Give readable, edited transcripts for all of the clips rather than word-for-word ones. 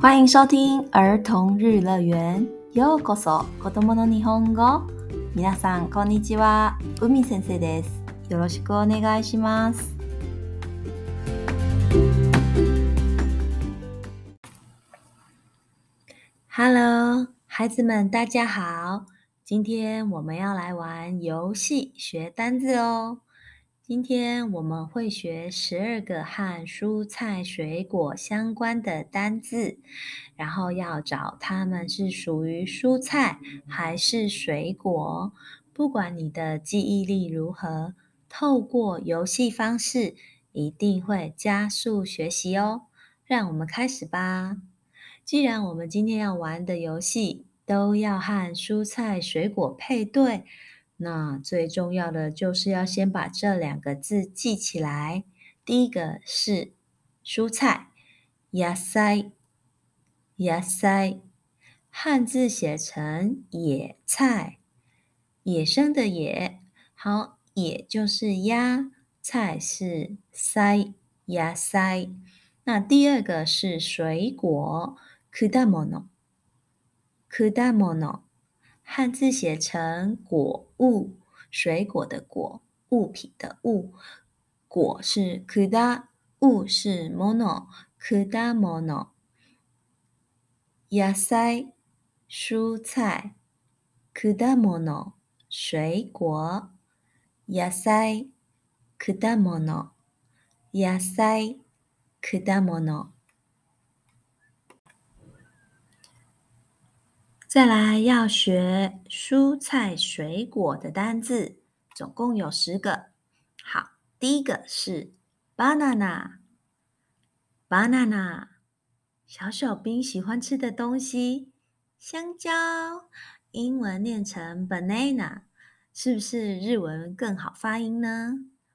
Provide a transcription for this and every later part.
歡迎收聽兒童日樂園。ようこそ、子供の日本語。皆さん、こんにちは。海先生です。よろしくお願いします。Hello， 孩子們，大家好。今天我們要來玩遊戲，學單字哦。今天我們會學12個和蔬菜水果相關的單字，然後要找它們是屬於蔬菜還是水果。不管你的記憶力如何，透過遊戲方式一定會加速學習哦。讓我們開始吧。既然我們今天要玩的遊戲都要和蔬菜水果配對，那最重要的就是要先把這2個字記起來。第一個是蔬菜，野菜，野菜，漢字寫成野菜，野生的野。好，野就是鴨，菜是菜，野菜。那第二個是水果，果物，果物，漢字寫成果物，水果的果，物品的物，果是果，物是物，果物。野菜，蔬菜，果物，水果。野菜，果物，野菜，果物。再來要學蔬菜水果的單字，總共有10個。好，第一個是 banana，banana， 小小兵喜歡吃的東西，香蕉，英文念成 banana， 是不是日文更好發音呢？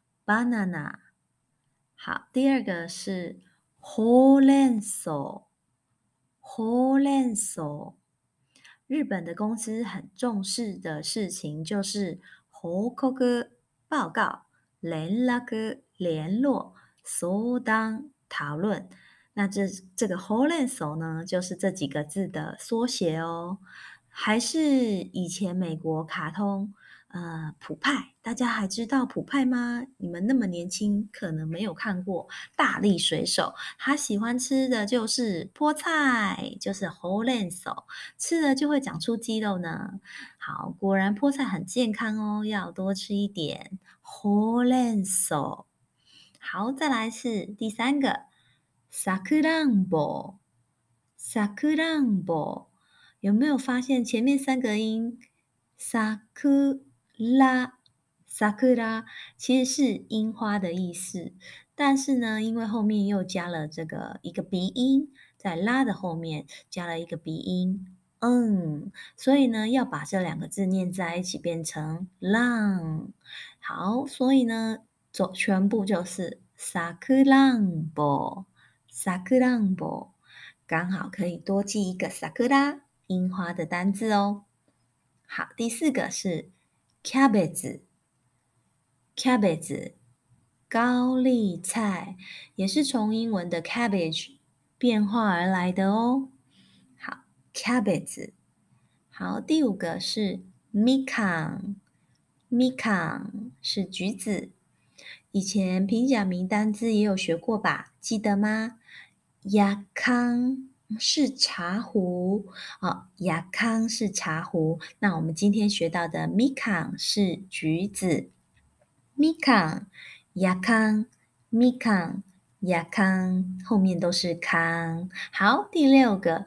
banana。 好，第二個是ほうれん草，ほうれん草。日本的公司很重視的事情就是報告，報告，連絡，聯絡，相談，討論。那這個ほうれん草呢，就是這幾個字的縮寫哦。還是以前美國卡通普派，大家還知道普派嗎？你們那麼年輕，可能沒有看過大力水手，他喜歡吃的就是菠菜，就是ほうれん草，吃了就會長出肌肉呢。好，果然菠菜很健康哦，要多吃一點ほうれん草。好，再來是第3個，さくらんぼ，さくらんぼ。有沒有發現前面3個音さくら，さくら其實是櫻花的意思，但是呢，因為後面又加了這個一個鼻音，在拉的後面加了一個鼻音，所以呢，要把這2個字念在一起變成ら。好，所以呢，全部就是さくらんぼ，さくらんぼ，剛好可以多記一個さくら櫻花的單字哦。好，第4個是キャベツ，キャベツ，高麗菜，也是從英文的 cabbage 變化而來的哦。好，キャベツ。好，第5個是みかん，みかん是橘子。以前平假名單字也有學過吧？記得嗎？やかん是茶壺，やかん是茶壺。那我們今天學到的みかん是橘子。みかん、やかん、みかん、やかん，後面都是康。好，第6個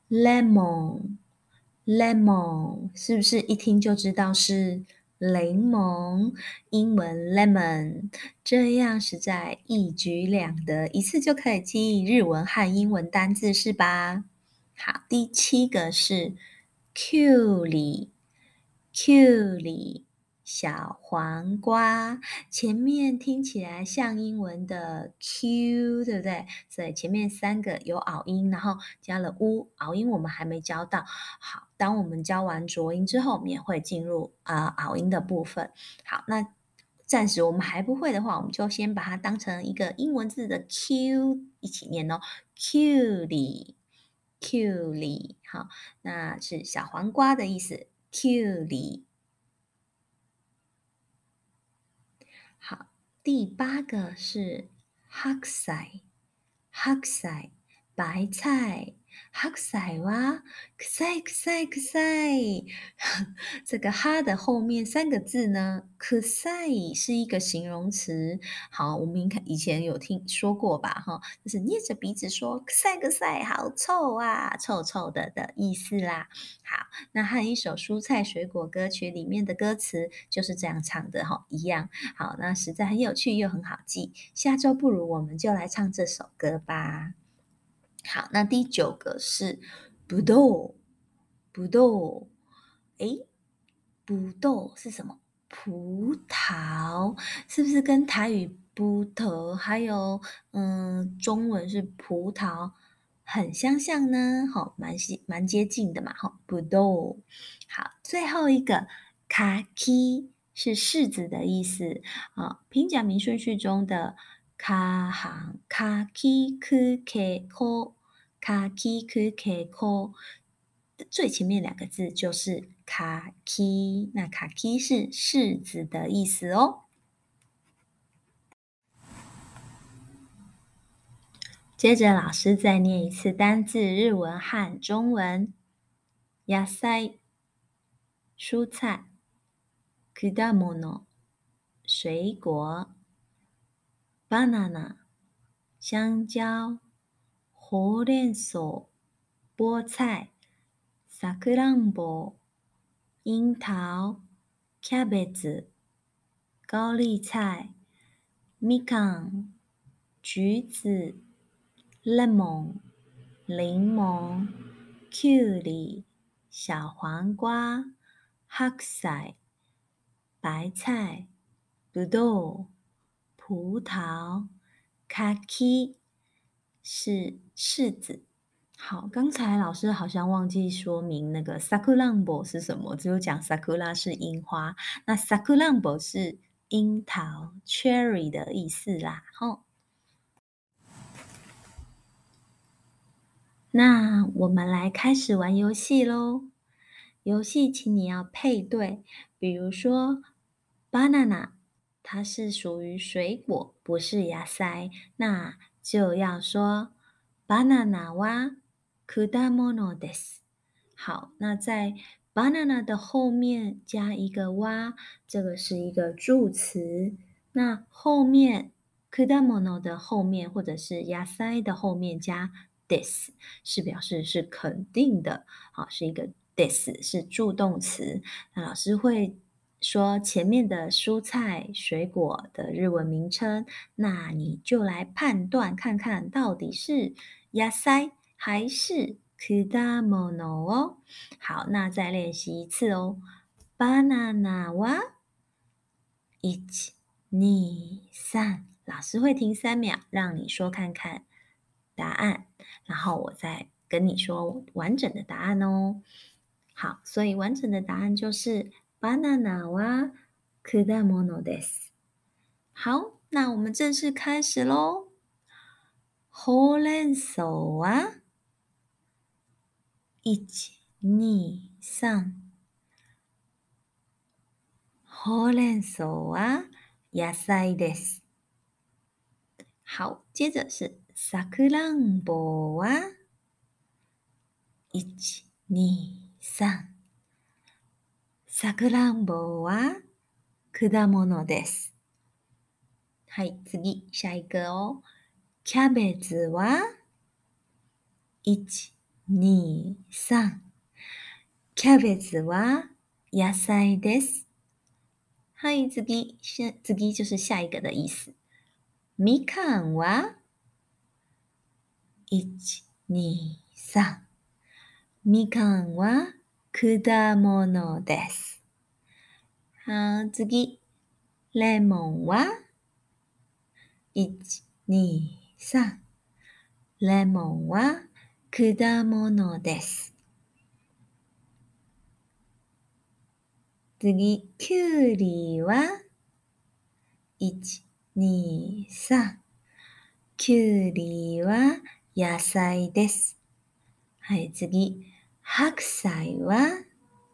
lemon， lemon 是不是一聽就知道是檸檬？英文 lemon， 這樣實在一舉兩得，一次就可以記憶日文和英文單字是吧？好，第7個是きゅうり，きゅうり，小黃瓜，前面聽起來像英文的 Q， 對不對？所以前面3個有拗音，然後加了 u， 拗音我們還沒教到。好，當我們教完濁音之後，我們也會進入拗音的部分。好，那暫時我們還不會的話，我們就先把它當成一個英文字的 Q 一起念哦。きゅうり， きゅうり，好，那是小黃瓜的意思。きゅうり。好，第8個是白菜，白菜，白菜。白菜は臭い臭い臭い。這個哈的後面3個字呢，臭い是一個形容詞。好，我們以前有聽說過吧？哈，就是捏着鼻子說臭い臭い，好臭啊，臭臭的意思啦。好，那和一首蔬菜水果歌曲裡面的歌詞就是這樣唱的哈，一樣。好，那實在很有趣又很好記。下周不如我們就來唱這首歌吧。好，那第9個是ぶどう，ぶどう。誒，ぶどう是什麼？葡萄，是不是跟台語葡萄還有中文是葡萄很相像呢？好，蠻接近的嘛。好，ぶどう。好，最後一個柿是柿子的意思啊。平假名順序中的卡行卡基科 K 科卡基科 K 科最前面2個字就是卡基，那卡基是柿子的意思哦。接着老師再念一次單字日文和中文。野菜蔬菜，果物水果，banana 香蕉，ほうれん草菠菜，さくらんぼ櫻桃，キャベツ高麗菜，みかん橘子，lemon檸檬，きゅうり小黃瓜，白菜白菜，ぶどう葡萄，柿是柿子。好，剛才老師好像忘記說明那個さくらんぼ是什麼，只有講sakura是櫻花，那さくらんぼ是櫻桃 cherry 的意思啦。吼，那我們來開始玩遊戲咯。遊戲請你要配對，比如說 banana 它是屬於水果，不是野菜，那就要說 banana は果物です。好，那在 banana 的後面加一個哇，這個是一個助詞。那後面果物的後面或者是野菜的後面加 des，是表示是肯定的。好，是一個 des 是助動詞。那老師會說前面的蔬菜水果的日文名稱，那你就來判斷看看到底是野菜還是果物哦。好，那再練習一次哦。バナナは1、2、3，老師會停3秒，讓你說看看答案，然後我再跟你說完整的答案哦。好，所以完整的答案就是バナナは果物です。好，那我們正式開始嘍。ほうれん草は1、2、3。ほうれん草は野菜です。好，接着是さくらんぼは1、2、3。さくらんぼは果物です。はい、次、下一個哦。キャベツは1、2、3。キャベツは野菜です。はい、次就是下一個的意思。みかんは1、2、3。みかんは果物です。好、次。レモンは1、2、3。レモンは果物です。次、きゅうりは1、2、3。きゅうりは野菜です。 はい、次。白菜は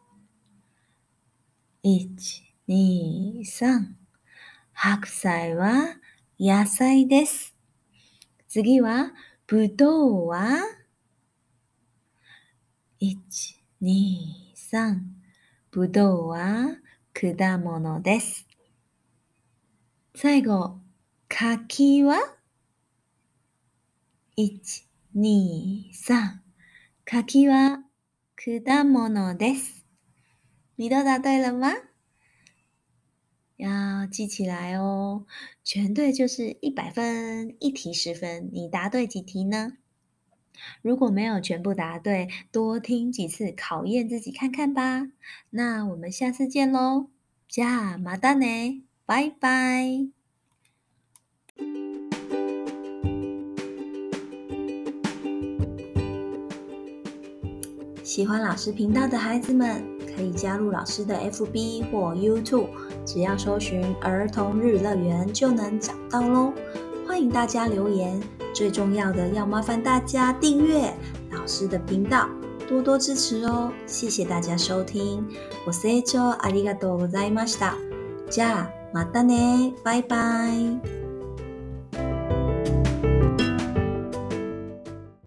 1、2、3。白菜は野菜です。次は、ぶどうは1、2、3。ぶどうは果物です。最後、柿は1、2、3。柿は果物です。你都答對了嗎？要記起來哦，全對就是100分，一題10分。你答對幾題呢？如果沒有全部答對，多聽幾次，考驗自己看看吧。那我們下次見嘍，じゃあまたね，拜拜。喜歡老師頻道的孩子們，可以加入老師的 FB 或 YouTube， 只要搜尋兒童日樂園就能找到咯。歡迎大家留言，最重要的要麻煩大家訂閱老師的頻道，多多支持哦。謝謝大家收聽，ご清聴ありがとうございました。じゃあまたね，拜拜。